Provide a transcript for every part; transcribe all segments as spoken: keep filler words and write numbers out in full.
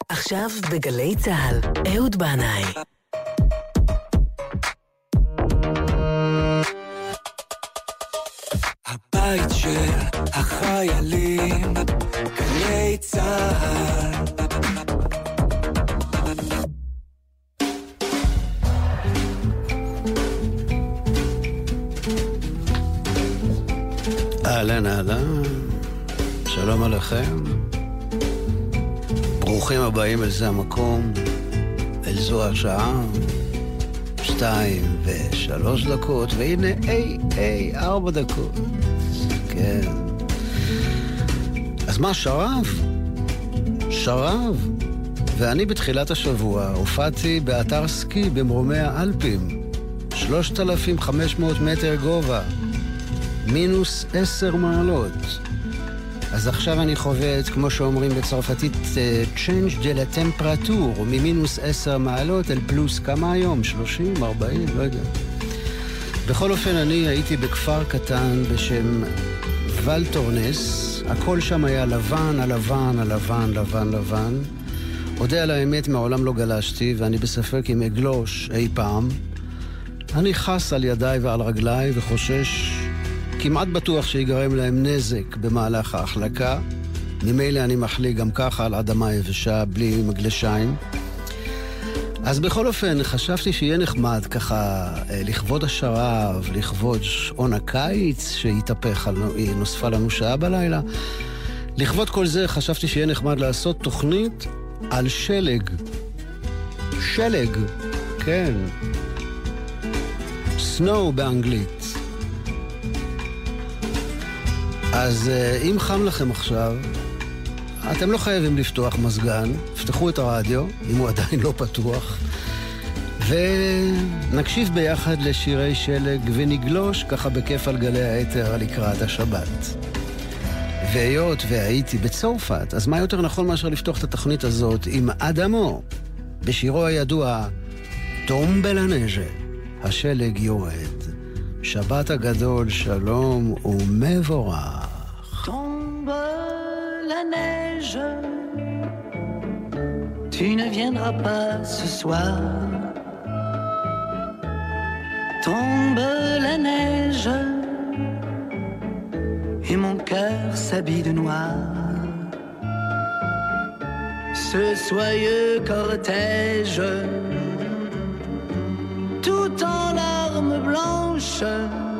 עכשיו בגלי צהל, אהוד בנאי. הבית של החיילים, גלי צהל. אהלן אהלן, שלום עליכם, ברוכים הבאים אל זה המקום, אל זו השעה, שתיים ושלוש דקות, והנה אי אי ארבע דקות, כן. אז מה, שרב? שרב. ואני בתחילת השבוע הופעתי באתר סקי במרומי האלפים, שלושת אלפים וחמש מאות מטר גובה, מינוס עשר מעלות. אז עכשיו אני חווה את, כמו שאומרים בצרפתית, change de la temperature, ממינוס עשר מעלות אל פלוס כמה היום? שלושים, ארבעים, לא יודע. בכל אופן, אני הייתי בכפר קטן בשם ולטורנס. הכל שם היה לבן, הלבן, הלבן, לבן, לבן. יודע על האמת, מעולם לא גלשתי, ואני בספק אם אגלוש אי פעם. אני חס על ידיי ועל רגליי וחושש, כמעט בטוח שיגרם להם נזק במהלך ההחלקה. ממילא אני מחליק גם ככה על אדמה יבשה בלי מגלשיים. אז בכל אופן חשבתי שיהיה נחמד ככה לכבוד השרב, לכבוד שעון הקיץ שהתהפך, נוספה לנו שעה בלילה. לכבוד כל זה חשבתי שיהיה נחמד לעשות תוכנית על שלג. שלג, כן. סנואו באנגלית. אז אם חם לכם עכשיו, אתם לא חייבים לפתוח מזגן, פתחו את הרדיו, אם הוא עדיין לא פתוח, ונקשיב ביחד לשירי שלג ונגלוש ככה בכיף על גלי היתר לקראת השבת. והיות והייתי בצרפת, אז מה יותר נכון מאשר לפתוח את התוכנית הזאת עם אדמו, בשירו הידוע טומבה לה נייג', השלג יורד. שבת הגדול, שלום ומבורך. Tombe la neige, tu ne viendras pas ce soir. Tombe la neige, et mon cœur s'habille de noir. Ce soyeux cortège, tout en larmes blanches,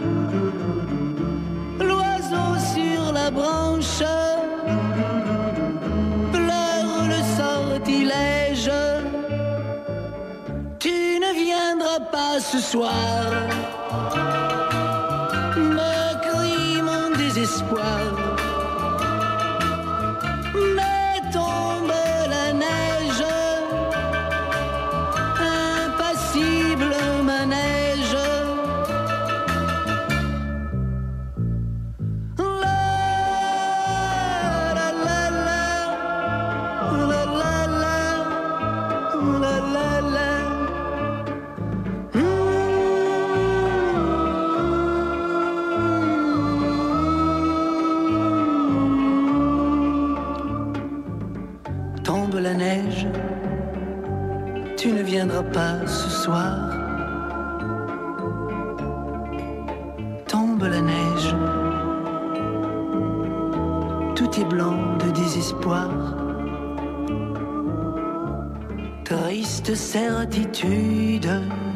l'oiseau sur la branche pleure le sortilège. Tu ne viendras pas ce soir, me crie mon désespoir. Mais tombe la neige, impassible manège. Tombe la neige, tu ne viendras pas ce soir. Tombe la neige, tout est blanc de désespoir. Triste certitude,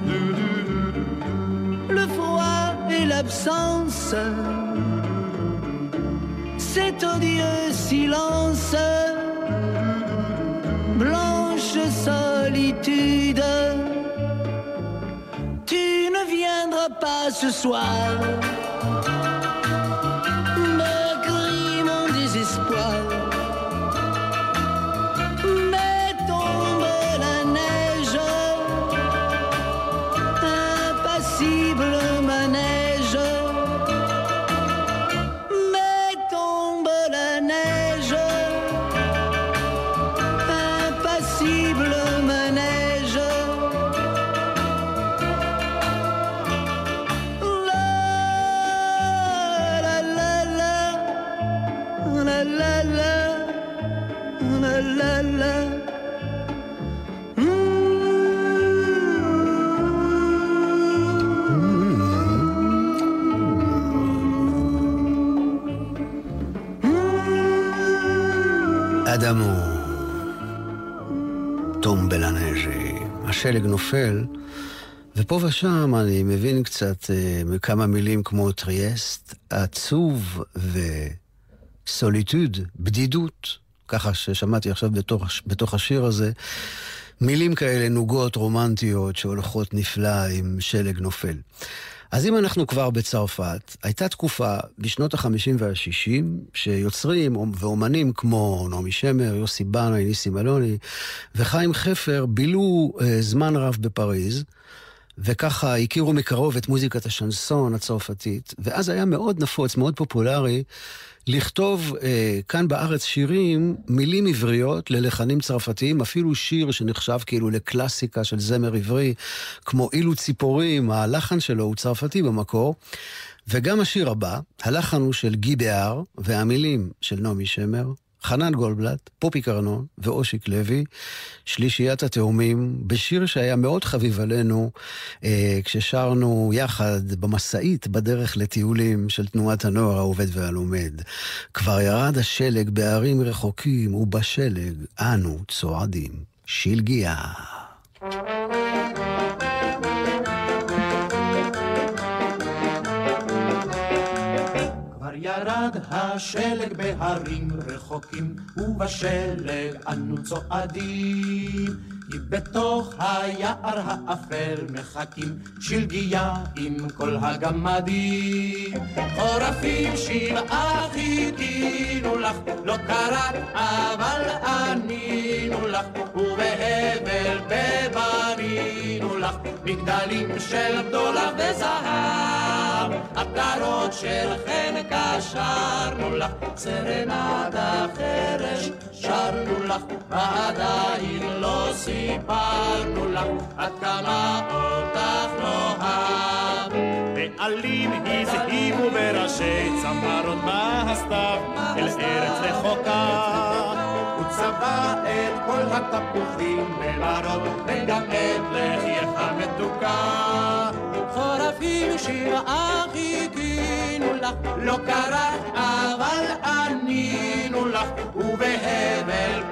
le froid et l'absence, cet odieux silence, blanche solitude. Tu ne viendras pas ce soir, me crie mon désespoir. Mais tombe la neige, impassible manège. Mais tombe la neige, impassible manège. La L'amour, tombe la neige, השלג נופל, ופה ושם אני מבין קצת uh, כמה מילים כמו טריאסט, עצוב וסוליטוד, בדידות, ככה ששמעתי עכשיו בתוך, בתוך השיר הזה, מילים כאלה נוגות רומנטיות שהולכות נפלא עם שלג נופל. אז אם אנחנו כבר בצרפת, הייתה תקופה בשנות החמישים והשישים, שיוצרים ואומנים כמו נעמי שמר, יוסי בנאי, ניסים אלוני וחיים חפר בילו uh, זמן רב בפריז, וככה הכירו מקרוב את מוזיקת השנסון הצרפתית, ואז היה מאוד נפוץ, מאוד פופולרי, לכתוב אה, כאן בארץ שירים, מילים עבריות ללחנים צרפתיים, אפילו שיר שנחשב כאילו לקלאסיקה של זמר עברי, כמו אילו ציפורים, הלחן שלו הוא צרפתי במקור, וגם השיר הבא, הלחן הוא של גי בהר, והמילים של נעמי שמר, חנן גולדבלט, פופי קרנון ואושיק לוי, שלישיית התאומים, בשיר שהיה מאוד חביב עלינו, אה, כששרנו יחד במסעית בדרך לטיולים של תנועת הנוער העובד והלומד. כבר ירד השלג בערים רחוקים, ובשלג אנו צועדים. שלגיה. ירד השלג בהרים רחוקים, ובשלג אנו צועדים. בתוך היער האפל מחכים, שלגיה עם כל הגמדים. חורפים שבעה חיכינו לך, לא קראת אבל ענינו לך, ובהבל בבנינו לך, מגדלים של בדולח וזהב, עטרות של חן קשרנו לך, סרנדה חרש שרנו לך, ועדיין לא סיפרנו לך עד כמה אותך נאהב. בעלים הזהימו בראשי צמרות מהסתיו אל ארץ רחוקה, הוא צבע את כל התפוחים במרוד, וגם את לחייך המתוקה. חורפים שבעה חיכינו לך, לא קראת אבל ענינו לך, ובהבל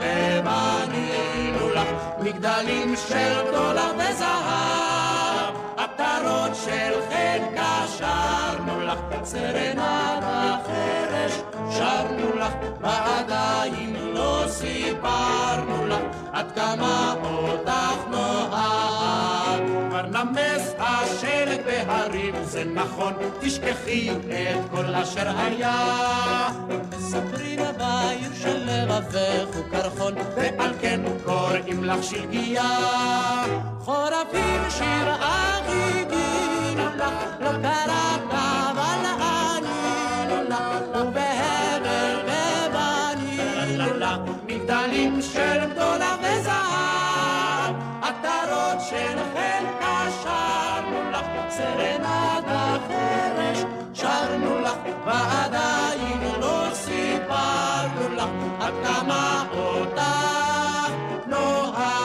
בבנינו לך, מגדלים של דולר וזהב, עטרות של חן קשרנו לך, סרנדה חרש שרנו לך, ועדיין לא סיפרנו לך עד כמה אותך נאהב. כבר נמס השלג בהרים, זה נכון, תשכחי את כל אשר היה. מספרים בעיר של לבבך הוא קרחון, ועל כן קוראים לך שלגיה. חורפים שבעה חיכינו לך, לא קראת אבל ענינו לך, ובהבל בבנינו לך, מגדלים של בדולח וזהב, עטרות של חן קשרנו לך, סרנדה חרש שרנו לך, ועדיין לא סיפרנו לך עד כמה אותך נאהב.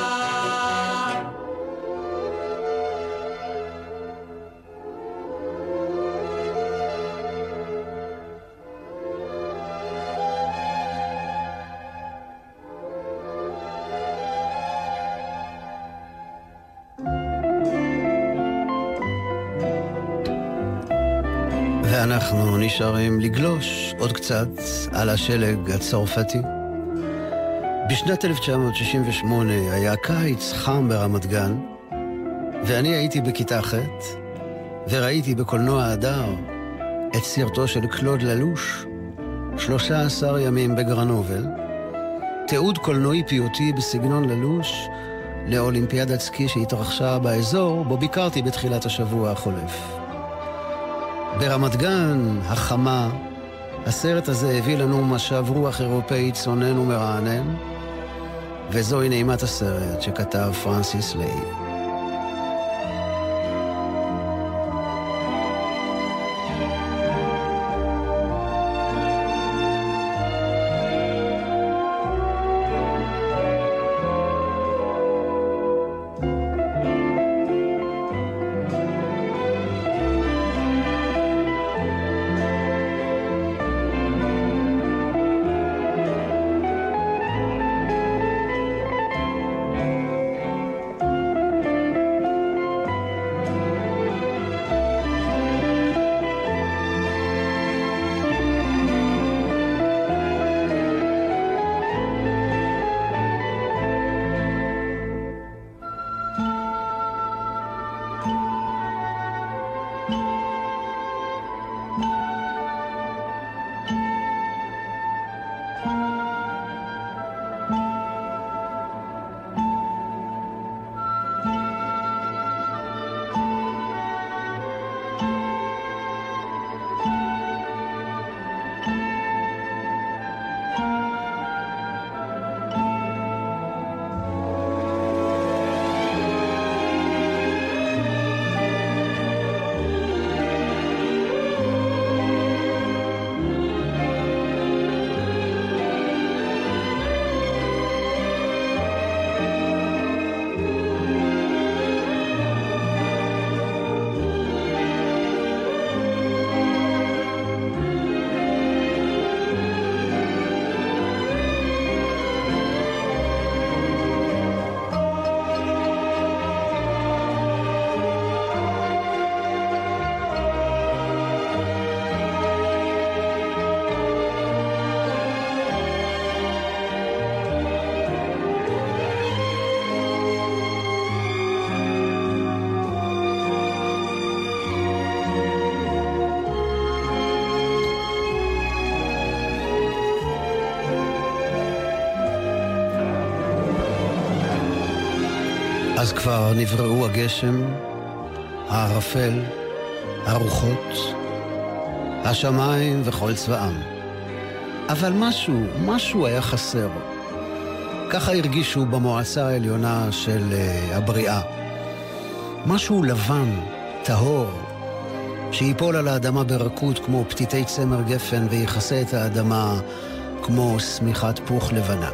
ואנחנו נשארים לגלוש עוד קצת על השלג הצרפתי. בשנת אלף תשע מאות שישים ושמונה היה קיץ חם ברמת גן, ואני הייתי בכיתה ח' וראיתי בקולנוע הדר את סרטו של קלוד ללוש, שלושה עשר ימים בגרנובל, תיעוד קולנועי פיוטי בסגנון ללוש לאולימפיאדת סקי שהתרחשה באזור בו ביקרתי בתחילת השבוע החולף. ברמת גן החמה, הסרט הזה הביא לנו משב רוח אירופאי צונן ומרענן, וזוהי נעימת הסרט שכתב פרנסיס ליי. אז כבר נבראו הגשם, הערפל, הרוחות, השמיים וכל צבאם. אבל משהו, משהו היה חסר. ככה הרגישו במועצה העליונה של uh, הבריאה. משהו לבן, טהור, שיפול על האדמה ברכות כמו פתיתי צמר גפן ויחסה את האדמה כמו סמיכת פוך לבנה.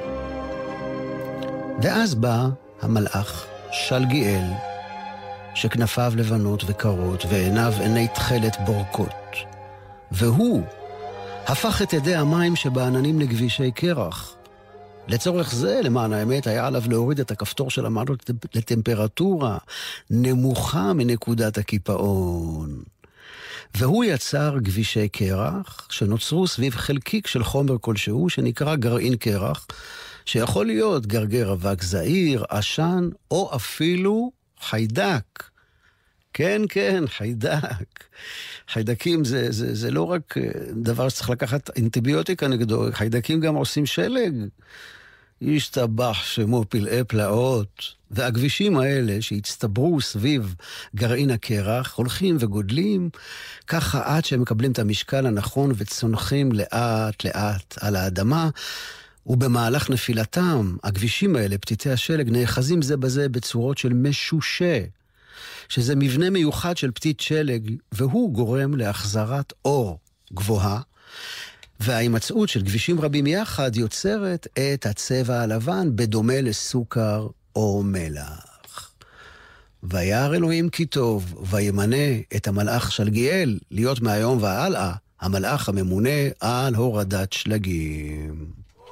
ואז בא המלאך, שלגיאל, שכנפיו לבנות וקרות ועיניו עיני תכלת בורקות. והוא הפך את ידי המים שבעננים לגבישי קרח. לצורך זה, למען האמת, היה עליו להוריד את הכפתור של המעלות לטמפרטורה נמוכה מנקודת הקיפאון. והוא יצר גבישי קרח שנוצרו סביב חלקיק של חומר כלשהו שנקרא גרעין קרח, שיכול להיות גרגר אבק זעיר, עשן, או אפילו חיידק. כן, כן, חיידק. חיידקים זה, זה, זה לא רק דבר שצריך לקחת אנטיביוטיקה נגדו, חיידקים גם עושים שלג. ישתבח שמו פלאי פלאות. והגבישים האלה שהצטברו סביב גרעין הקרח הולכים וגודלים, ככה עד שהם מקבלים את המשקל הנכון וצונחים לאט לאט על האדמה, ובמהלך נפילתם, הגבישים האלה, פתיתי השלג, נאחזים זה בזה בצורות של משושה, שזה מבנה מיוחד של פתית שלג, והוא גורם להחזרת אור גבוהה, וההימצאות של גבישים רבים יחד יוצרת את הצבע הלבן בדומה לסוכר או מלח. וירא אלוהים כי טוב, וימנה את המלאך שלגיאל להיות מהיום והלאה המלאך הממונה על הורדת שלגים.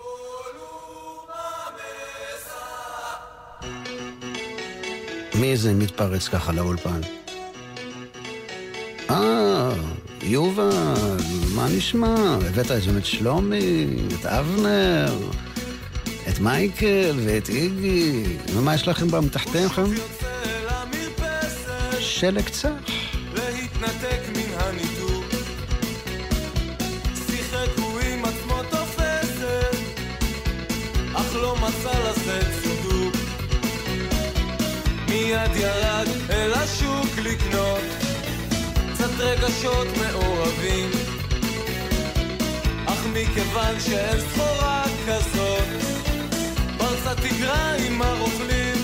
מי זה מתפרץ ככה לאולפן? אה, יובל, מה נשמע? הבאת את שלומי, את אבנר, את מייקל ואת איגי. ומה יש לכם במתחתיכם? שלג צח. להתנתק מן הניתוק, שיחק הוא עם עצמו תופסת, אך לא מצא לשאת צידוק. מיד ירד אל השוק לקנות קצת רגשות מעורבים, אך מכיוון שאין סחורה כזאת, פרצה תגרה עם הרוכלים.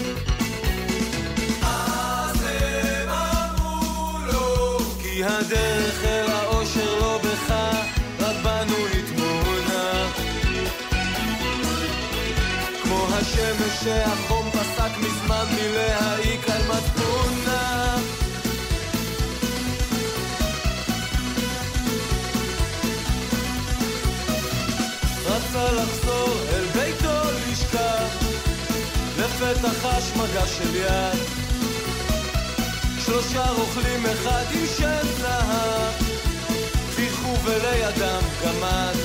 אז הם אמרו לו, כי הדרך אל האושר לא בך, רק בנו נתמונה. כמו השמש שהחום פסק מזמן מלהעיק על מצפונה. רצה לחזור אל ביתו לשכב, לפתח חש מגע של יד, שלושה רוכלים אחד עם שם זהב, פיחו ולידם גמד,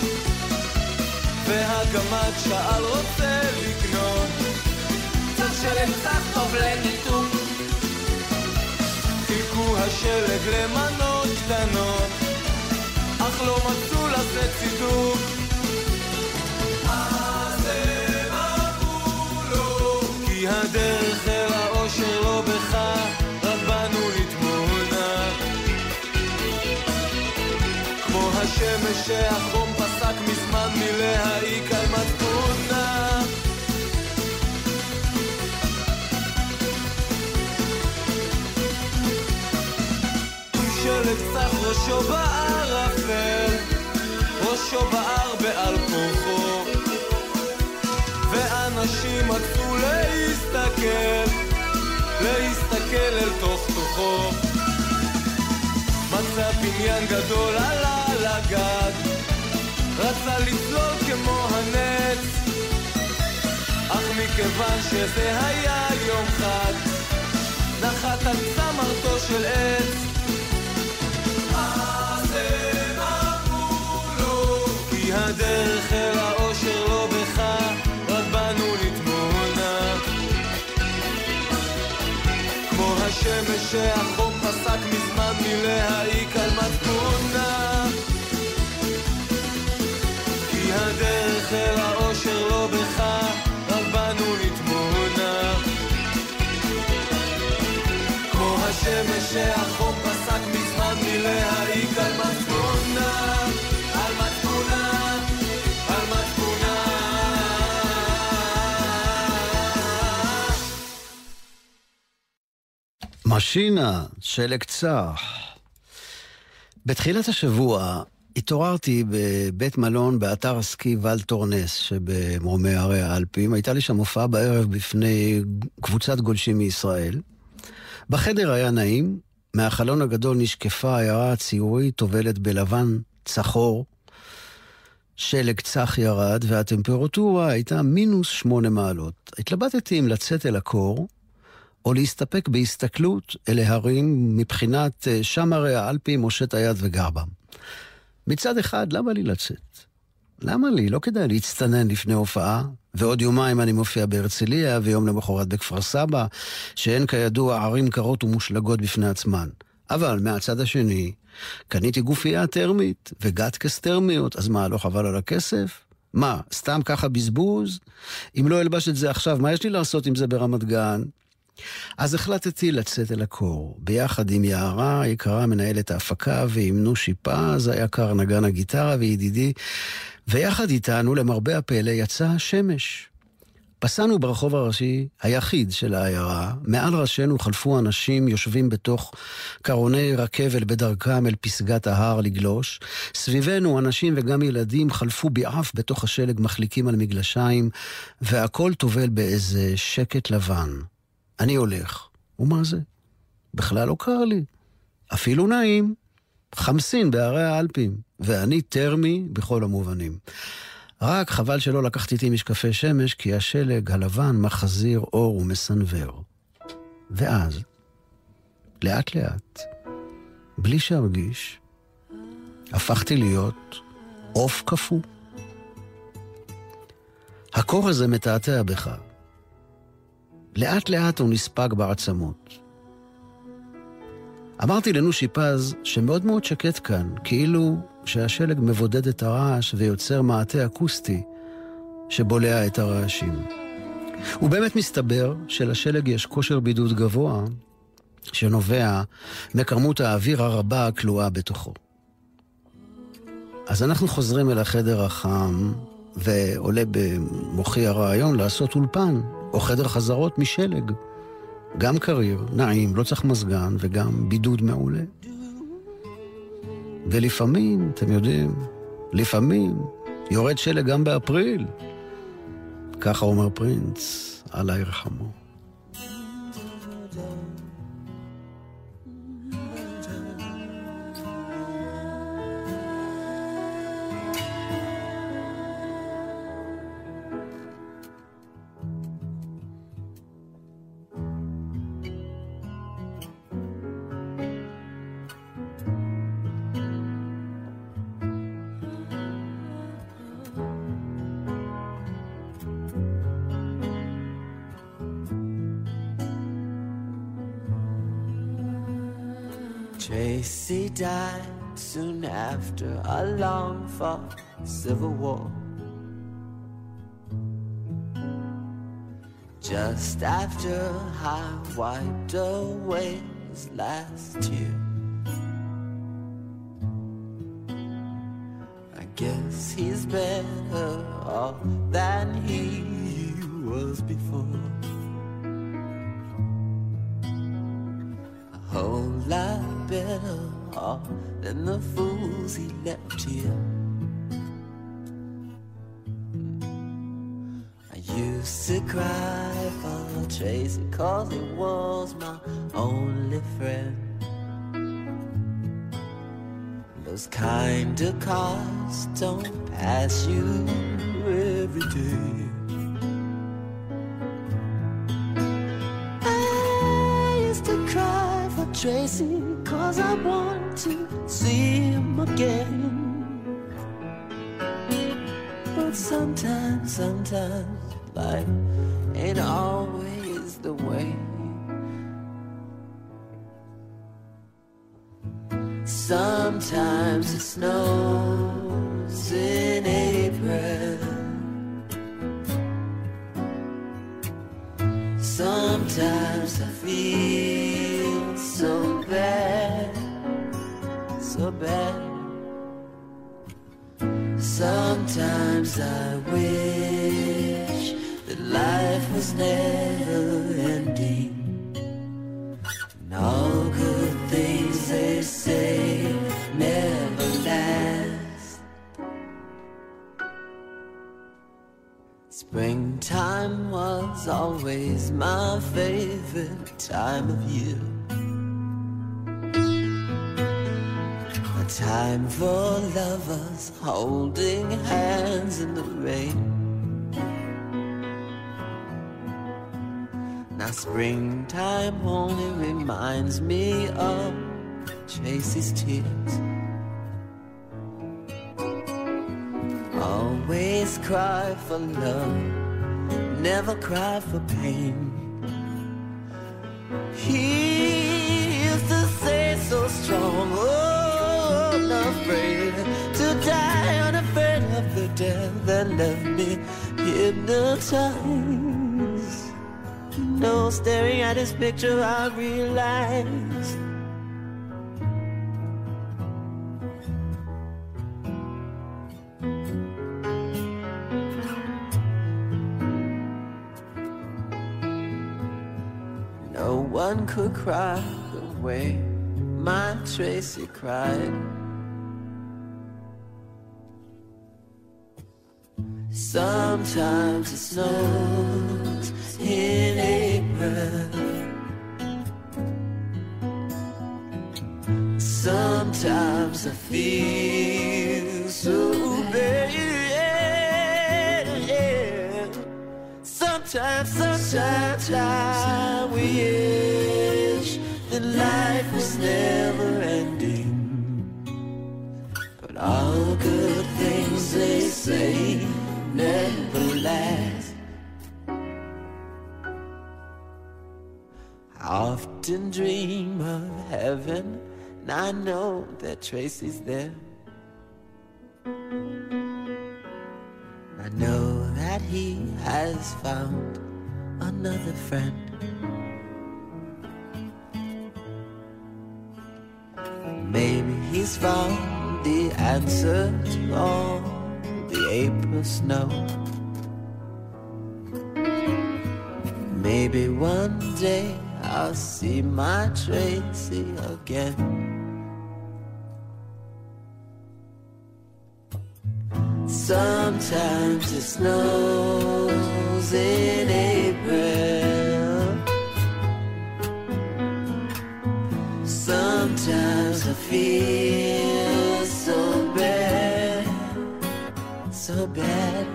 והגמד שאל רוצה לקנות קצת שלג צח טוב לניתוק. חילקו השלג למנות קטנות, אך לא מצאו לשאת צידוק. אז הם אמרו לו, כי הדרך אל האושר לא בך, רק בנו לתמונה. כמו השמש שהחום פסק מזמן מלהעיק על מצפונה. שלג צח ראשו בערפל, ראשו בער בעל כוחו, ואנשים מצאו להסתכל, להסתכל אל תוך תוכו. מצא בניין גדול עלה לגג, רצה לצלול כמו הנץ, אך מכיוון שזה היה יום חג, נחת על צמרתו של עץ. אז הם אמרו לו, כי הדרך אל האושר לא בך, רק בנו לתמונה. כמו השמש שהחום פסק מזמן מלהעיק על מצפונה. כי הדרך אל האושר לא בך, רק בנו לתמונה. שהחוק פסק מזמן מלהעיק על מצפונה, על מצפונה, על מצפונה. משינה, שלג צח. בתחילת השבוע התעוררתי בבית מלון באתר הסקי ואל טורנס שבמרומי הרי האלפים. הייתה לי שם הופעה בערב בפני קבוצת גולשים מישראל. בחדר היה נעים, מהחלון הגדול נשקפה העיירה הציורית, טובלת בלבן צחור. שלג צח ירד והטמפרטורה הייתה מינוס שמונה מעלות. התלבטתי אם לצאת אל הקור או להסתפק בהסתכלות אל ההרים מבחינת שם הרי האלפים, מושט היד וגר בם. מצד אחד, למה לי לצאת? למה לי? לא כדאי להצטנן לפני הופעה, ועוד יומיים אני מופיע בהרצליה, ויום למחרת בכפר סבא, שאין כידוע ערים קרות ומושלגות בפני עצמן. אבל מהצד השני, קניתי גופייה טרמית, וגטקס טרמיות, אז מה, לא חבל על הכסף? מה, סתם ככה בזבוז? אם לא אלבש את זה עכשיו, מה יש לי לעשות עם זה ברמת גן? אז החלטתי לצאת אל הקור, ביחד עם יערה, יקרה מנהלת ההפקה, ועם נושי פז, היקר נגן הגיטרה וידידי, ויחד איתנו למרבה הפלא יצא השמש. פסענו ברחוב הראשי היחיד של העיירה, מעל ראשינו חלפו אנשים יושבים בתוך קרוני רכבל בדרכם אל פסגת ההר לגלוש, סביבנו אנשים וגם ילדים חלפו בעף בתוך השלג מחליקים על מגלשיים, והכל טובל באיזה שקט לבן. אני הולך, ומה זה? בכלל לא קר לי. אפילו נעים. חמסין בערי האלפים, ואני טרמי בכל המובנים. רק חבל שלא לקחתי איתי משקפי שמש, כי השלג הלבן מחזיר אור ומסנבר. ואז, לאט לאט, בלי שהרגיש, הפכתי להיות עוף קפוא. הקור הזה מתעתע בך. לאט לאט הוא נספג בעצמות. אמרתי לנושי פז שמאוד מאוד שקט כאן, כאילו שהשלג מבודד את הרעש ויוצר מעטה אקוסטי שבולע את הרעשים. ובאמת מסתבר שלשלג יש כושר בידוד גבוה שנובע מכמות האוויר הרבה הכלואה בתוכו. אז אנחנו חוזרים אל החדר החם, ועולה במוחי הרעיון לעשות אולפן או חדר חזרות משלג. גם קריר, נעים, לא צריך מזגן, וגם בידוד מעולה. ולפעמים, אתם יודעים, לפעמים יורד שלג גם באפריל. ככה אומר פרינץ, אללה ירחמו. Tracy died soon after a long-fought civil war. Just after I wiped away his last tear. I guess he's better off than he was before. A whole lot better off than the fools he left here. I used to cry for Tracy 'cause he was my only friend. Those kind of cars don't pass you every day. I used to cry for Tracy 'cause I want to see him again. But sometimes, sometimes life ain't always the way. Sometimes it snows in April. Sometimes I feel so bad. bad, so bad. Sometimes I wish that life was never ending, and all good things they say never last. Springtime was always my favorite time of year, a time for lovers holding hands in the rain. Now springtime only reminds me of Tracy's tears. Always cry for love, never cry for pain. He used to say so strong, oh, not afraid to die, unafraid of the death that left me hypnotized. You know, staring at his picture I realized no one could cry the way my Tracy cried. Sometimes it snows in April, sometimes I feel so bad. Sometimes, sometimes I wish that life was never ending, but all good things they say never last. I often dream of heaven, and I know that Tracy's there. I know that he has found another friend. Maybe he's found the answer to all the April snow. Maybe one day I'll see my Tracy again. Sometimes it snows in April, sometimes I feel so bad, so bad.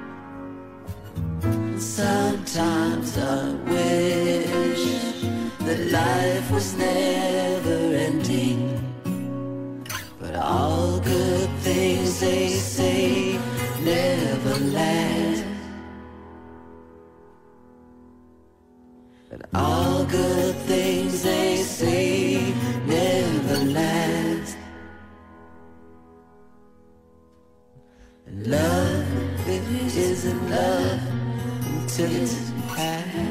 Sometimes I wish that life was never ending, but all good things they say never last. But all good things they say never last. And love, it isn't love until it's past.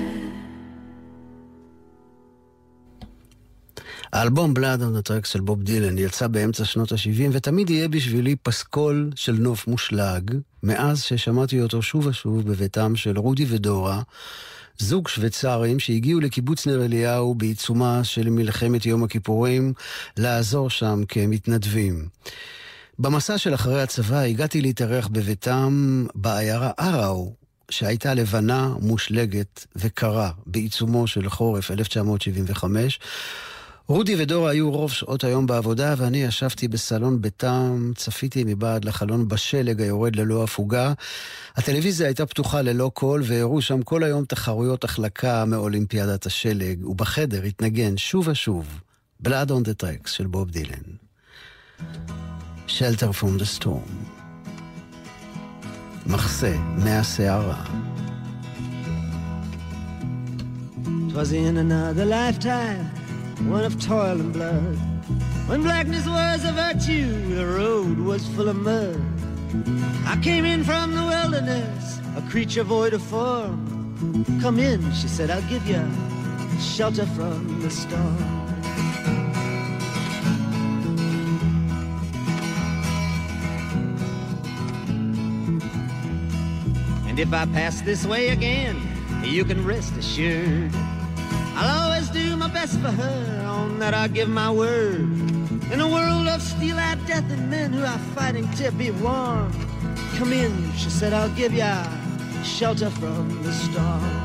האלבום Blood on the Tracks של בוב דילן יצא באמצע שנות ה-שבעים, ותמיד יהיה בשבילי פסקול של נוף מושלג, מאז ששמעתי אותו שוב ושוב בביתם של רודי ודורה, זוג שוויצרים שהגיעו לקיבוץ נר אליהו בעיצומה של מלחמת יום הכיפורים, לעזור שם כמתנדבים. במסע של אחרי הצבא הגעתי להתארח בביתם בעיירה אראו, שהייתה לבנה, מושלגת וקרה בעיצומו של חורף אלף תשע מאות שבעים וחמש. רודי ודורה היו רוב שעות היום בעבודה, ואני ישבתי בסלון ביתם, צפיתי מבעד לחלון בשלג היורד ללא הפוגה. הטלוויזיה הייתה פתוחה ללא קול, והראו שם כל היום תחרויות החלקה מאולימפיאדת השלג, ובחדר התנגן שוב ושוב Blood on the Tracks של בוב דילן. Shelter from the Storm. מחסה מהסערה. Twas in another lifetime, one of toil and blood, when blackness was a virtue, the road was full of mud. I came in from the wilderness, a creature void of form. Come in, she said, I'll give you shelter from the storm. And if I pass this way again, you can rest assured I'll always do my best for her, on that I give my word. In a world of steel-eyed death and men who are fighting to be warm, come in, she said, I'll give ya shelter from the storm.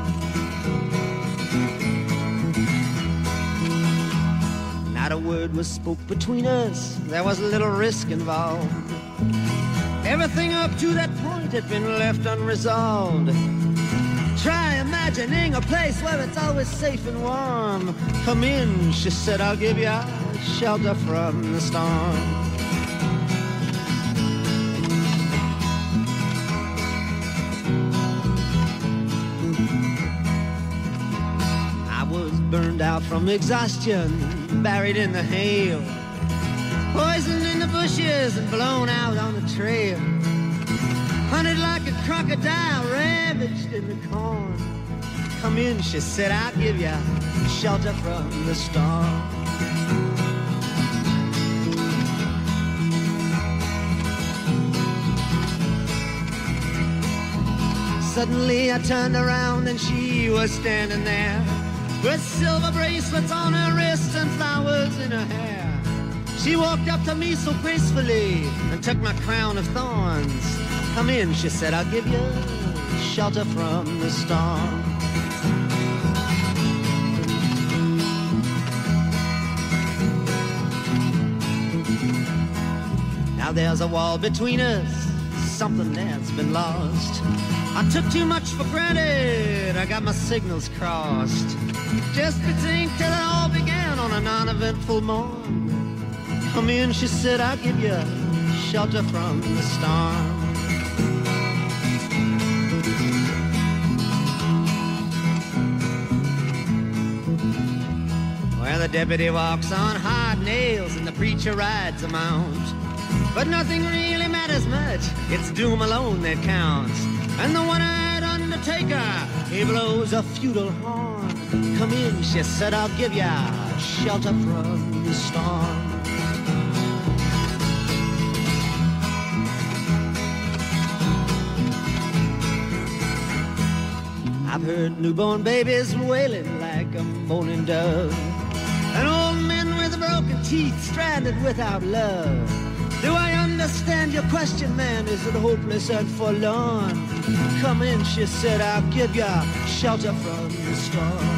Not a word was spoke between us, there was little risk involved. Everything up to that point had been left unresolved. Try imagining a place where it's always safe and warm. Come in, she said, I'll give you shelter from the storm. I was burned out from exhaustion, buried in the hail, poisoned in the bushes and blown out on the trail. Hunted like a crocodile, ravaged in the corn. Come in, she said, I'll give you shelter from the storm. Suddenly I turned around and she was standing there with silver bracelets on her wrists and flowers in her hair. She walked up to me so gracefully and took my crown of thorns. Come in, she said, I'll give you shelter from the storm. Now there's a wall between us, something that's been lost. I took too much for granted, I got my signals crossed. Just to think till it all began on a non-eventful morn. Come in, she said, I'll give you shelter from the storm. Well, the deputy walks on hard nails and the preacher rides a mount. But nothing really matters much, it's doom alone that counts. And the one-eyed undertaker, he blows a feudal horn. Come in, she said, I'll give ya shelter from the storm. I've heard newborn babies wailing like a moaning dove, and old men with broken teeth stranded without love. Do I understand your question, man? Is it hopeless and forlorn? Come in, she said, I'll give you shelter from the storm.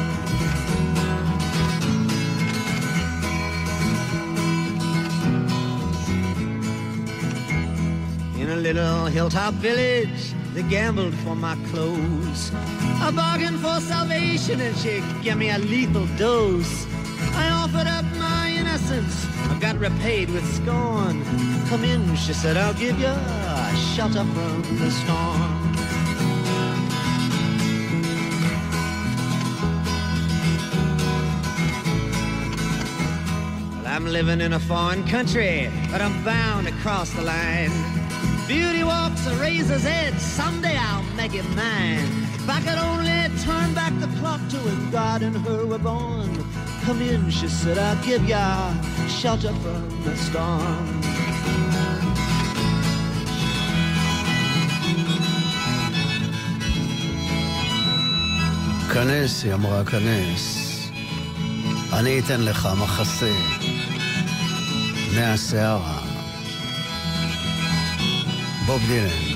In a little hilltop village, they gambled for my clothes. I bargained for salvation and she gave me a lethal dose. I offered up my innocence, I got repaid with scorn. Come in, she said, I'll give you shelter from the storm. Well, I'm living in a foreign country, but I'm bound to cross the line. Beauty walks a razor's edge, someday I'll make it mine. If I could only turn back the clock to when God and her were born. Come in, she said, I'll give ya shelter from the storm. כנס, היא אמרה, כנס. אני אתן לך מחסה מהשערה. בוב דילן.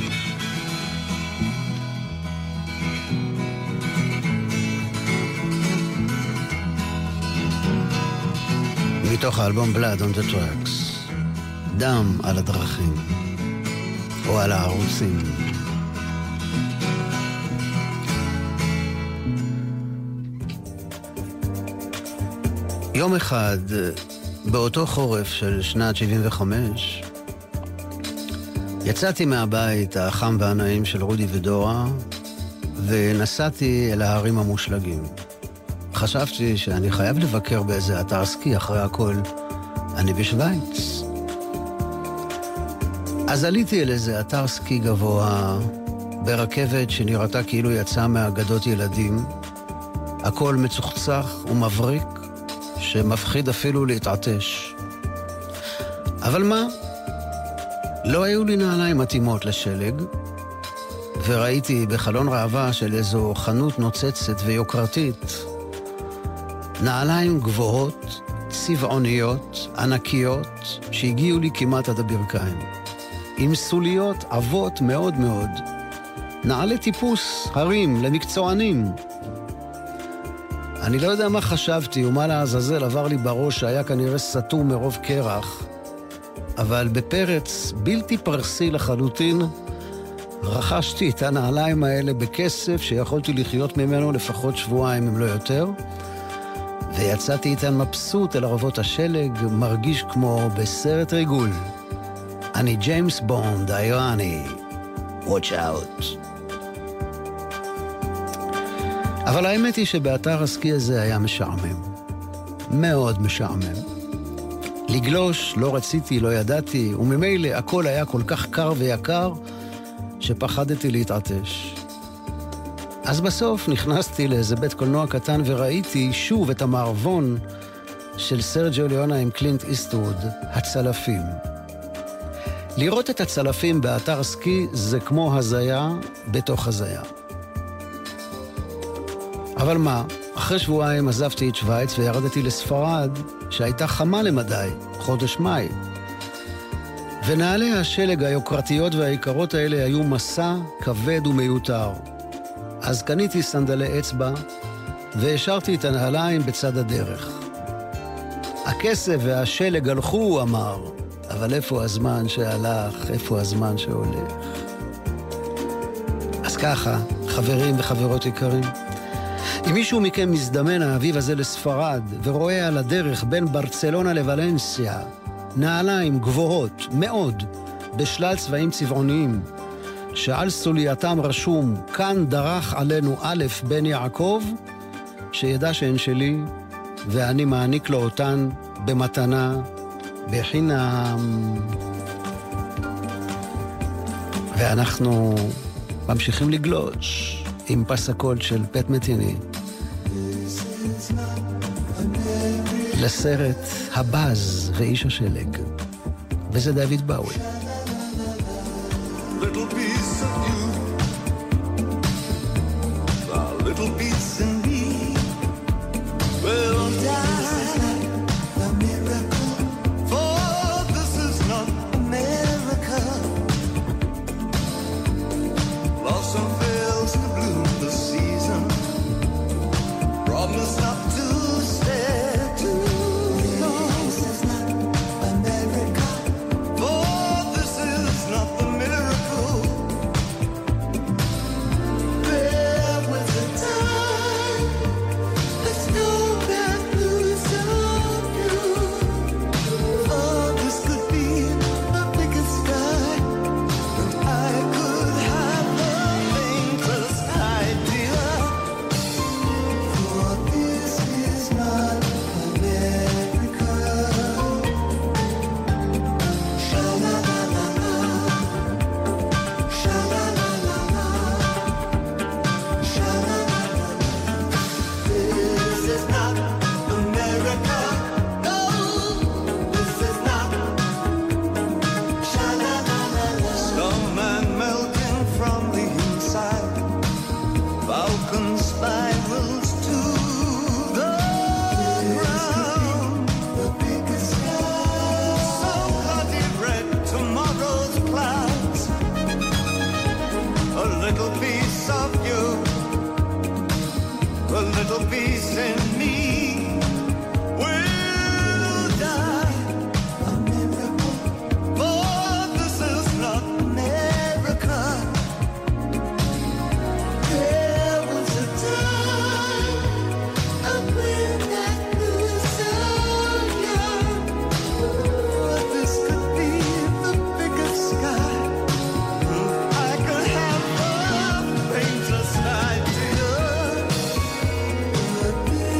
מתוך האלבום Blood on the Tracks, דם על הדרכים או על הערוצים. יום אחד, באותו חורף של שנת שבעים וחמש, יצאתי מהבית החם והנעים של רודי ודורה, ונסעתי אל ההרים המושלגים. חשבתי שאני חייב לבקר באיזה אתר סקי, אחרי הכל אני בשוויץ. אז עליתי אל איזה אתר סקי גבוה, ברכבת שנראתה כאילו יצאה מאגדות ילדים, הכל מצוחצח ומבריק, שמפחיד אפילו להתעטש. אבל מה? לא היו לי נעליים מתאימות לשלג, וראיתי בחלון ראווה של איזו חנות נוצצת ויוקרתית נעליים גבוהות, צבעוניות, ענקיות, שהגיעו לי כמעט עד הברכיים. עם סוליות עבות מאוד מאוד. נעלי טיפוס, הרים, למקצוענים. אני לא יודע מה חשבתי ומה לעזאזל עבר לי בראש שהיה כנראה סתום מרוב קרח, אבל בפרץ בלתי פרסי לחלוטין רכשתי את הנעליים האלה בכסף שיכולתי לחיות ממנו לפחות שבועיים אם לא יותר, ויצאתי איתן מבסוט אל ערבות השלג, מרגיש כמו בסרט ריגול. אני ג'יימס בונד, האיראני. Watch out. אבל האמת היא שבאתר הסקי הזה היה משעמם. מאוד משעמם. לגלוש לא רציתי, לא ידעתי, וממילא הכל היה כל כך קר ויקר, שפחדתי להתעטש. אז בסוף נכנסתי לאיזה בית קולנוע קטן וראיתי שוב את המערבון של סרג'יו ליונה עם קלינט איסטווד, הצלפים. לראות את הצלפים באתר סקי זה כמו הזיה בתוך הזיה. אבל מה, אחרי שבועיים עזבתי את שוויץ וירדתי לספרד שהייתה חמה למדי, חודש מאי. ונעלי השלג היוקרתיות והעיקרות האלה היו מסע כבד ומיותר. אז קניתי סנדלי אצבע והשארתי את הנעליים בצד הדרך. הכסף והשלג הלכו, הוא אמר, אבל איפה הזמן שהלך, איפה הזמן שהולך? אז ככה, חברים וחברות יקרים, אם מישהו מכם מזדמן האביב הזה לספרד ורואה על הדרך בין ברצלונה לוולנסיה נעליים גבוהות מאוד בשלל צבעים צבעוניים שעל סולייתם רשום כאן דרך עלינו א' בן יעקב, שידע שהן שלי ואני מעניק לו אותן במתנה בחינם. ואנחנו ממשיכים לגלוש עם פסקול של פט מטיני לסרט הבאז ואיש השלג, וזה דוד באוי. Little piece of you, a little piece in me will die a miracle, for this is not America. Blossom fails to bloom this season, promise not to stay too long. This is not America, for this is not the miracle. There was a time, let's go back to some you. For this could be the biggest sky, and I could have the faintest idea. For this is not America. Sha-la-la-la-la, sha-la-la-la-la, sha-la-la-la-la. This is not America. No, this is not. Sha-la-la-la-la. Snowman melting from the inside, Falcon spirals to the ground. The biggest sky, so bloody red, tomorrow's clouds. A little piece of you, a little piece in me will die a miracle, for this is not America. There was a time up when I knew so young, this could be the biggest sky. I could have the faintest idea. But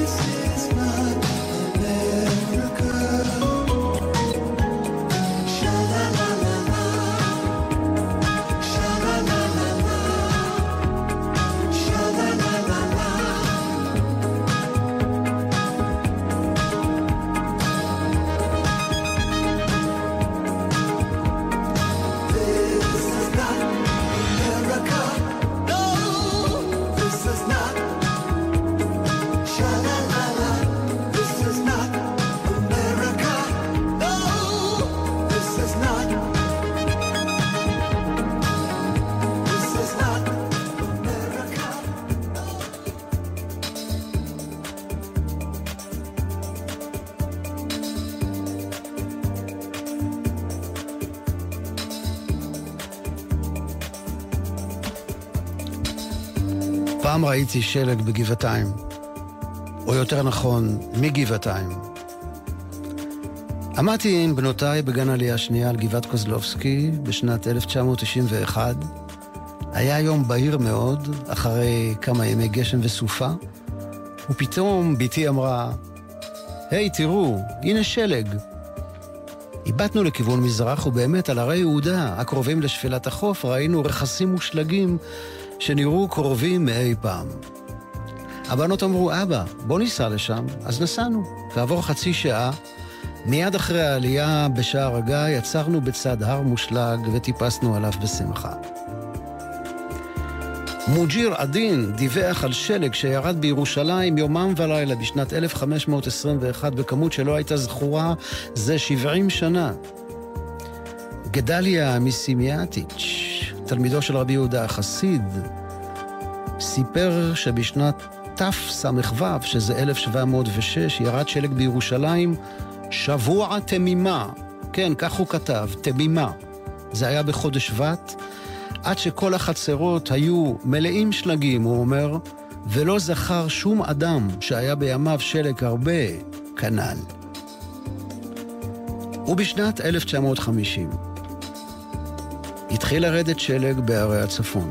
פעם ראיתי שלג בגבעתיים, או יותר נכון, מגבעתיים. עמדתי עם בנותיי בגן עלייה שנייה על גבעת קוזלובסקי בשנת אלף תשע מאות תשעים ואחת. היה יום בהיר מאוד, אחרי כמה ימי גשם וסופה, ופתאום ביתי אמרה, היי, תראו, הנה שלג. איבטנו לכיוון מזרח, ובאמת על הרי יהודה, הקרובים לשפלת החוף, ראינו רכסים ושלגים שנראו קרובים מאי פעם. הבנות אמרו, אבא, בוא ניסע לשם. אז נסענו. ועבור חצי שעה, מיד אחרי העלייה בשער הגיא, יצרנו בצד הר מושלג וטיפסנו עליו בשמחה. מוג'יר עדין דיווח על שלג שירד בירושלים יומם ולילה בשנת אלף חמש מאות עשרים ואחת בכמות שלא הייתה זכורה זה שבעים שנה. גדליה מסימיאטיץ', תלמידו של רבי יהודה החסיד, סיפר שבשנת תס"ו, שזה אלף שבע מאות ושש, ירד שלג בירושלים שבוע תמימה. כן, כך הוא כתב, תמימה. זה היה בחודש שבט, עד שכל החצרות היו מלאים שלגים, הוא אומר, ולא זכר שום אדם שהיה בימיו שלג הרבה כנ"ל. ובשנת אלף תשע מאות וחמישים התחיל לרדת שלג בערי הצפון.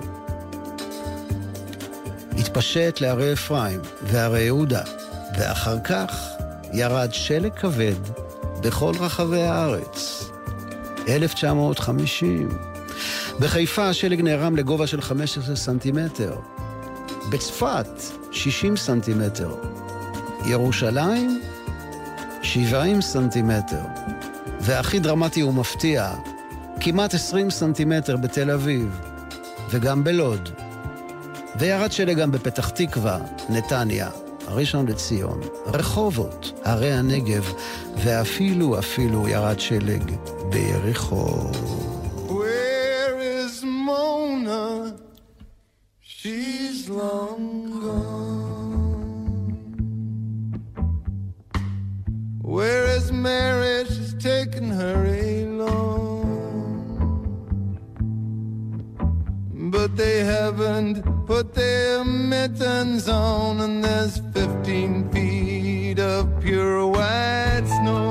התפשט לערי אפרים וערי יהודה, ואחר כך ירד שלג כבד בכל רחבי הארץ. אלף תשע מאות וחמישים. בחיפה השלג נערם לגובה של חמישה עשר סנטימטר. בצפת שישים סנטימטר. ירושלים שבעים סנטימטר. והכי דרמטי ומפתיע, כמעט עשרים סנטימטר בתל אביב, וגם בלוד. וירד שלג גם בפתח תקווה, נתניה, ראשון לציון, רחובות, ערי הנגב, ואפילו אפילו ירד שלג ביריחו. Where is Mona? She's long gone. Where is Mary? She's taken her along. But they haven't put their mittens on, and there's fifteen feet of pure white snow.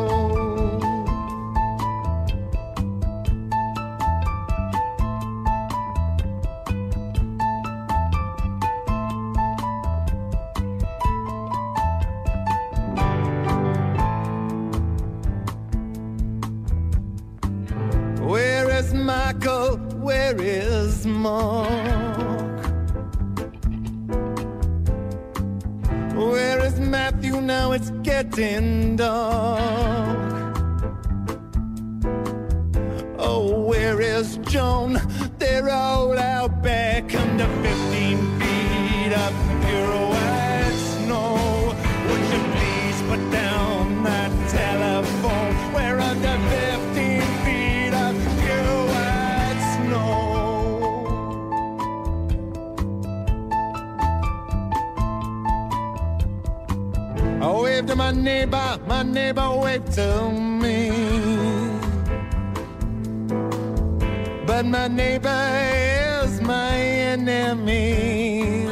Where is Michael? Where is Mark? Where is Matthew? Now it's getting dark. Oh, where is Joan? They're all out back under fifteen feet of pure white snow. Would you please put down that telephone? We're under fifteen feet of pure white snow. I waved to my neighbor, my neighbor waved to me. But my neighbor is my enemy.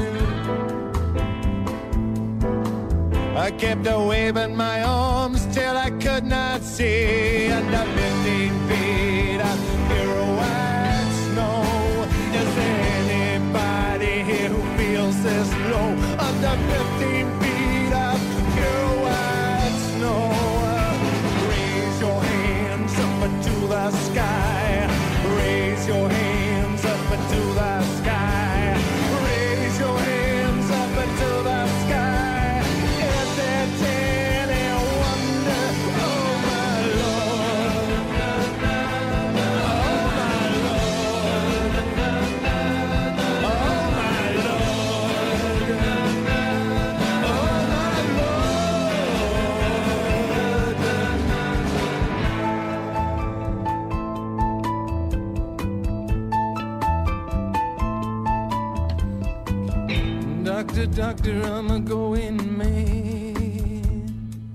I kept a waving my arms till I could not see. Under fifteen feet of pure white snow. Is there anybody here who feels this low? Under fifteen feet of pure white snow. Raise your hands up to the sky. Raise your hands up to the sky. Raise your hands up to the sky. Is there any wonder? Oh my Lord. Oh my Lord. Oh my Lord. Oh my Lord. Doctor, doctor, I'm a going man.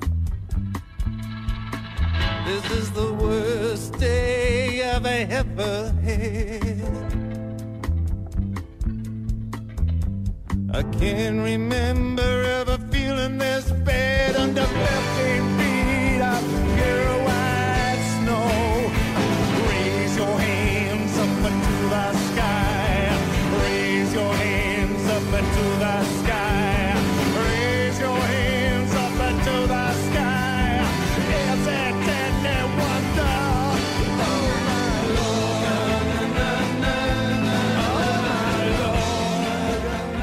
This is the worst day I've ever had. I Can't remember ever feeling this bad under fifteen feet of pure white snow. Raise your hands up to the sky. Raise your hands up to the sky. Raise your hands up to the sky. It's a deadly wonder. Oh my Lord. Oh my Lord.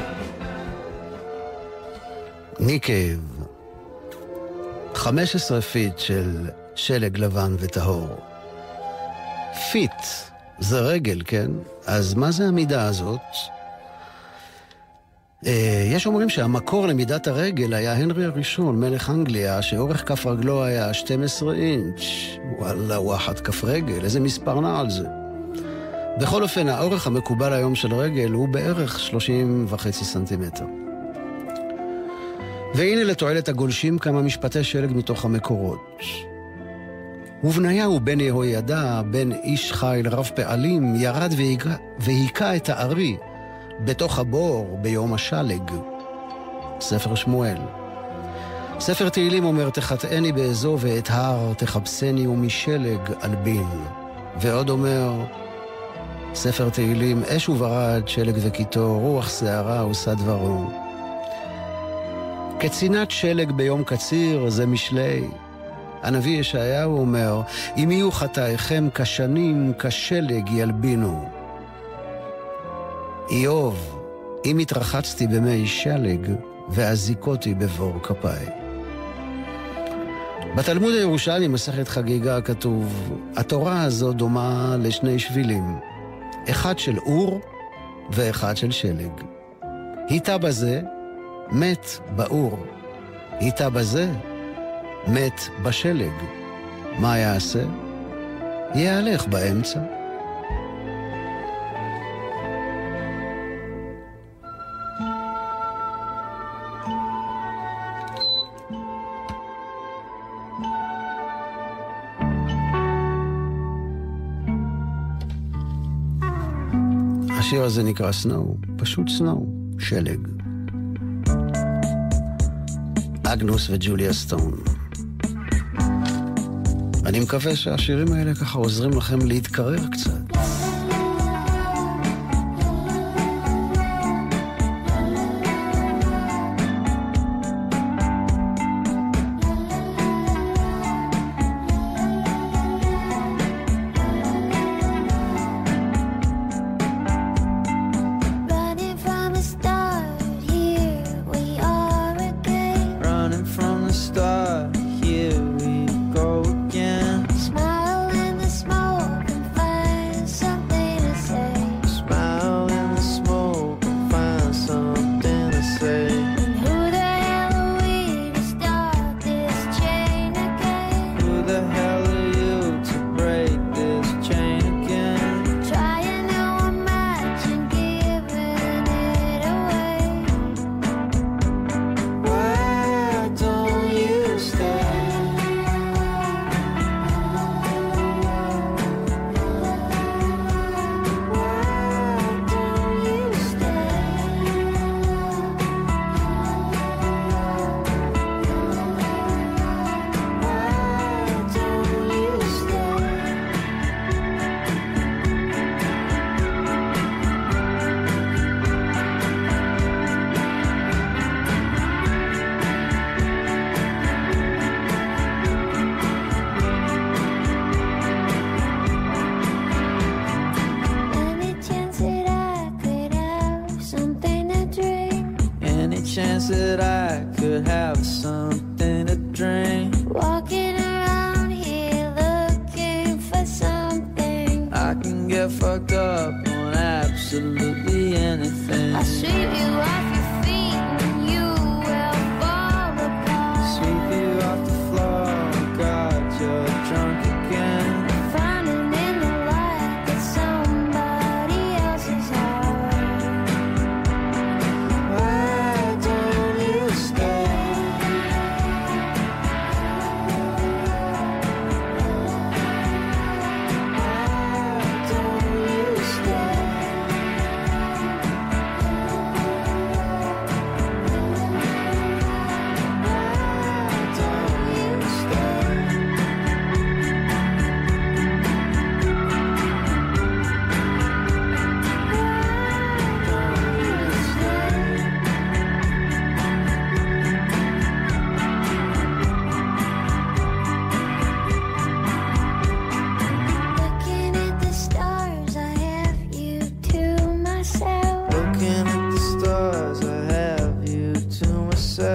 ניקייב, חמש עשרה פיט של שלג לבן וטהור. פיט זה רגל, כן? אז מה זה המידה הזאת? יש אומרים שהמקור למידת הרגל היה הנרי הראשון, מלך אנגליה, שאורך כף רגלו היה שתים עשרה אינץ'. וואלה, וואחד כף רגל, איזה מספר נע על זה. בכל אופן, האורך המקובל היום של רגל הוא בערך שלושים וחצי סנטימטר. והנה לתועלת הגולשים כמה משפטי שלג מתוך המקורות. ובניהו בן יהוידע, בן איש חיל רב פעלים, ירד והיכה את הארי בתוך הבור ביום השלג. ספר שמואל. ספר תהילים אומר, תחטאני באזוב ואת הר, תחפשני ומשלג אלבין. ועוד אומר, ספר תהילים, אש וברד, שלג וקיטור, רוח שערה עושה דברו. כצינת שלג ביום קציר זה משלי. הנביא ישעיהו אומר, אם יהיו חטאיכם כשנים כשלג ילבינו. איוב, אם התרחצתי במי שלג והזיקותי בבור כפיי. בתלמוד הירושלמי מסכת חגיגה כתוב, התורה הזו דומה לשני שבילים, אחד של אור ואחד של שלג. היטה בזה, מת באור. היטה בזה, מת בשלג. מה יעשה? יהלך באמצע. השיר הזה נקרא סנואו, פשוט סנואו, שלג. אגנוס וג'וליה סטון. אני מקווה שהשירים האלה ככה עוזרים לכם להתקרר קצת.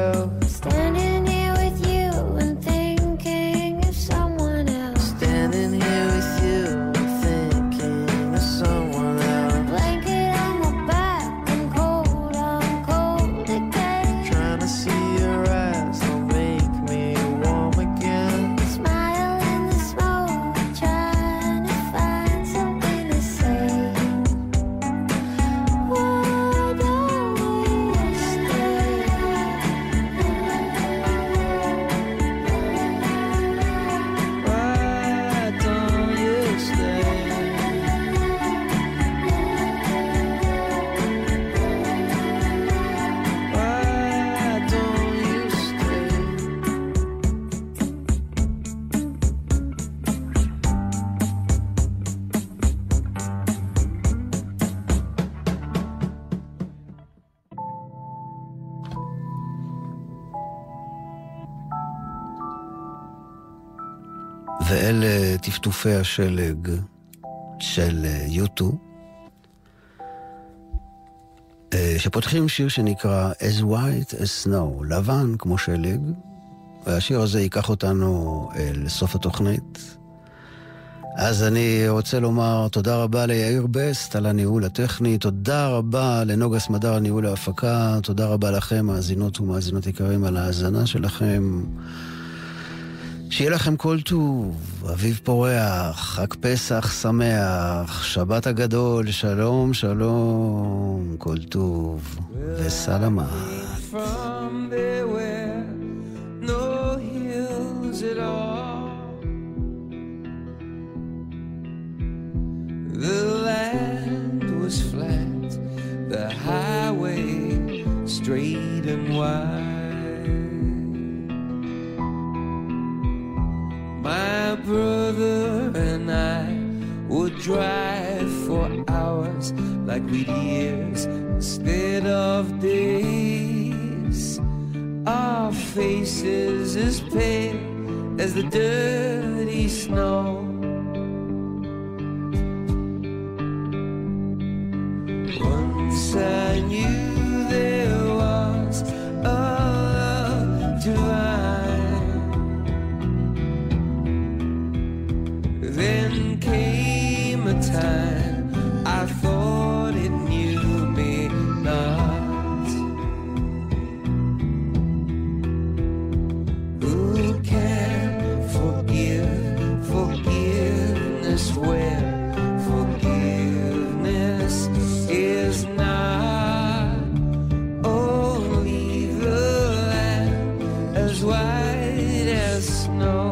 myself. Standing here with you and thinking of someone else. Standing here with you and thinking of someone else. Blanket on my back, I'm cold, I'm cold again. Trying to see your eyes, don't make me warm again. Smile in the smoke, trying to find something to say. Why don't we stay? Why don't you stay? Why don't you stay? ואלה טפטופי השלג של יוטו, שפותחים שיר שנקרא As White as Snow, לבן כמו שלג, והשיר הזה ייקח אותנו אל סוף התוכנית. אז אני רוצה לומר תודה רבה ליאיר בסט על הניהול הטכני, תודה רבה לנוגה סמדר על ניהול ההפקה, תודה רבה לכם מאזינות ומאזינות יקרים על ההאזנה שלכם. שיהיה לכם כל טוב, אביב פורח, חג פסח שמח, שבת הגדול, שלום שלום, כל טוב וסלמה. From there were no hills at all. The land was flat, the highway straight and wide. My brother and I would drive for hours like we'd years instead of days. Our faces as pale as the dirty snow. Once I knew there was a love divine. Then came a time I thought it knew me not. Who can forgive forgiveness when forgiveness is not? Only the land as white as snow.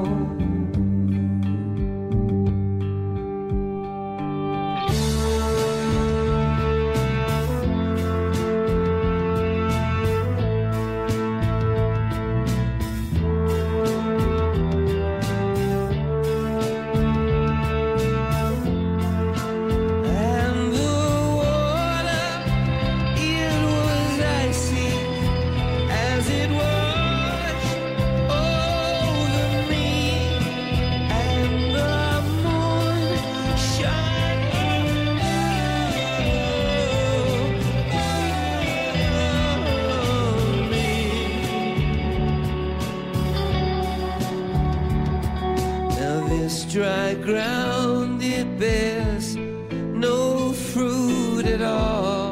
Dry ground, it bears no fruit at all.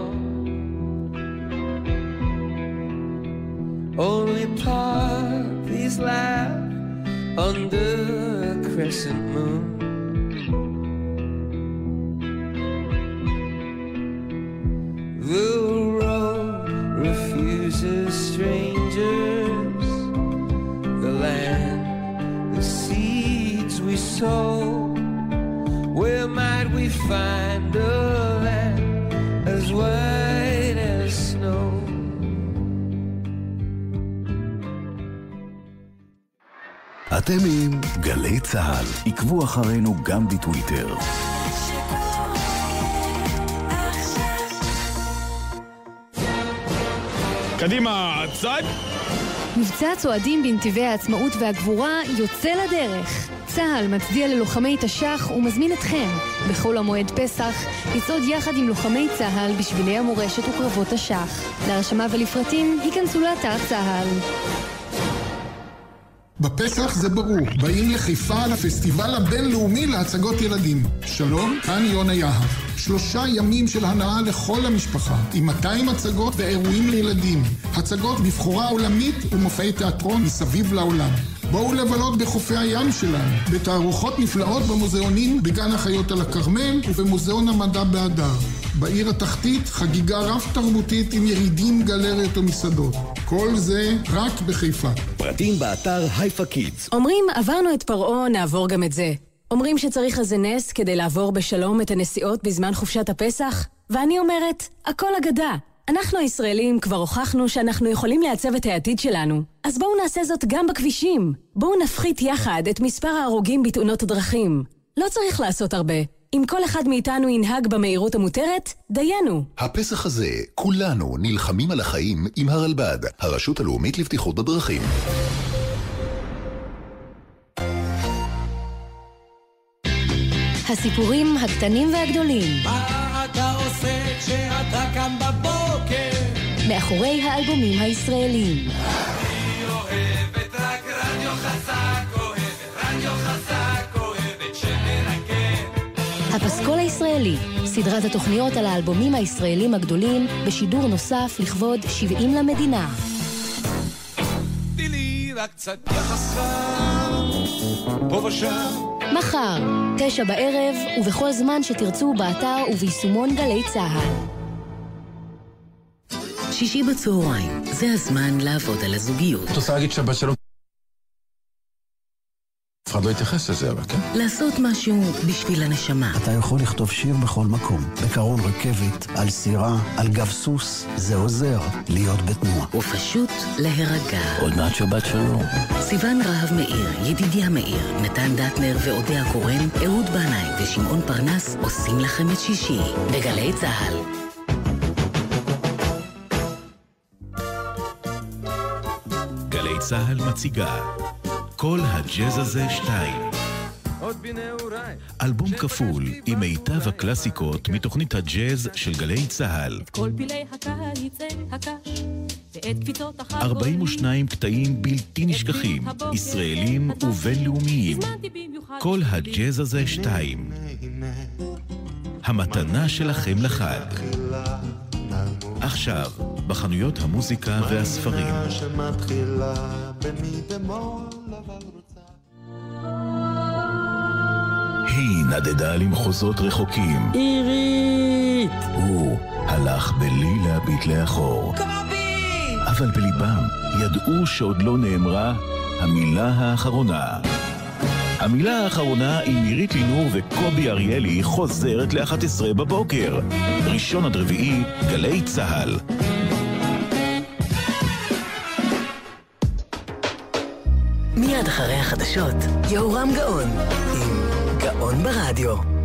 Only poppies laugh under a crescent moon. The road refuses strangers, the land, the seeds we sow. Where might we find a land as white as snow? אתם עם גלי צהל, עקבו אחרינו גם בטוויטר. קדימה, צד! מבצע צועדים בנתיבי העצמאות והגבורה יוצא לדרך. צה"ל מצדיע ללוחמי תש"ח ומזמין אתכם בכל המועד פסח לצעוד יחד עם לוחמי צה"ל בשבילי המורשת וקרבות תש"ח. להרשמה ולפרטים היכנסו לאתר צה"ל. בפסח זה ברור, באים לחיפה לפסטיבל הבינלאומי להצגות ילדים. שלום, כאן יונה יהב. שלושה ימים של הנאה לכל המשפחה, עם מאתיים הצגות ואירועים לילדים. הצגות בבחורה עולמית ומופעי תיאטרון מסביב לעולם. בואו לבלות בחופי הים שלנו, בתערוכות נפלאות במוזיאונים בגן החיות על הכרמל ובמוזיאון המדע באדר. בעיר התחתית חגיגה רב תרבותית עם ירידים, גלריות ומסעדות. כל זה רק בחיפה. פרטים באתר הייפה קידס. אומרים עברנו את פרעה, נעבור גם את זה. אומרים שצריך איזה נס כדי לעבור בשלום את הנסיעות בזמן חופשת הפסח, ואני אומרת, הכל אגדה. אנחנו הישראלים כבר הוכחנו שאנחנו יכולים לעצב את העתיד שלנו. אז בואו נעשה זאת גם בכבישים. בואו נפחית יחד את מספר ההרוגים בתאונות הדרכים. לא צריך לעשות הרבה. אם כל אחד מאיתנו ינהג במהירות המותרת, דיינו. הפסח הזה, כולנו נלחמים על החיים עם הרלב"ד, הרשות הלאומית לבטיחות בדרכים. הסיפורים הקטנים והגדולים. מה אתה עושה כשאתה קם בבוקר? מאחורי האלבומים הישראלים. אני אוהבת רק רדיו חזק, אוהבת רדיו חזק, אוהבת שמרקד. הפסקול הישראלי, סדרת התוכניות על האלבומים הישראלים הגדולים, בשידור נוסף לכבוד שבעים למדינה. תני רק קצת יחסה, פה ושם. מחר, תשע בערב, ובכל זמן שתרצו באתר וביישומון גלי צהל. שישי בצהריים, זה הזמן לעבוד על הזוגיות. את רוצה להגיד שבת שלום? אף אחד לא יתייחס לזה, אבל כן? לעשות משהו בשביל הנשמה. אתה יכול לכתוב שיר בכל מקום. בקרון רכבת, על סירה, על גב סוס. זה עוזר להיות בתנועה. ופשוט להירגע. עוד מעט שבת שלום. סיוון רהב מאיר, ידידיה מאיר, נתן דטנר ואודיה קורן, אהוד בנאי ושמעון פרנס עושים לכם את שישי. בגלי צהל. גלי צהל מציגה כל הג'אז הזה שתיים. אלבום כפול עם מיטב הקלאסיקות מתוכנית הג'אז של גלי צהל. כל פילי הקיץ הקש ואת קפיצות החגורים. ארבעים ושניים קטעים בלתי נשכחים, ישראלים ובינלאומיים. כל הג'אז הזה שתיים. המתנה שלכם לחג. עכשיו, בחנויות המוזיקה והספרים. היא נדדה למחוזות רחוקים. עירית! הוא הלך בלי להביט לאחור. קובי! אבל בליבם ידעו שעוד לא נאמרה המילה האחרונה. המילה האחרונה עם עירית לינור וקובי אריאלי חוזרת ל-אחת עשרה בבוקר. ראשון עד רביעי, גלי צהל. מיד אחרי החדשות, יהורם גאון עם גאון ברדיו.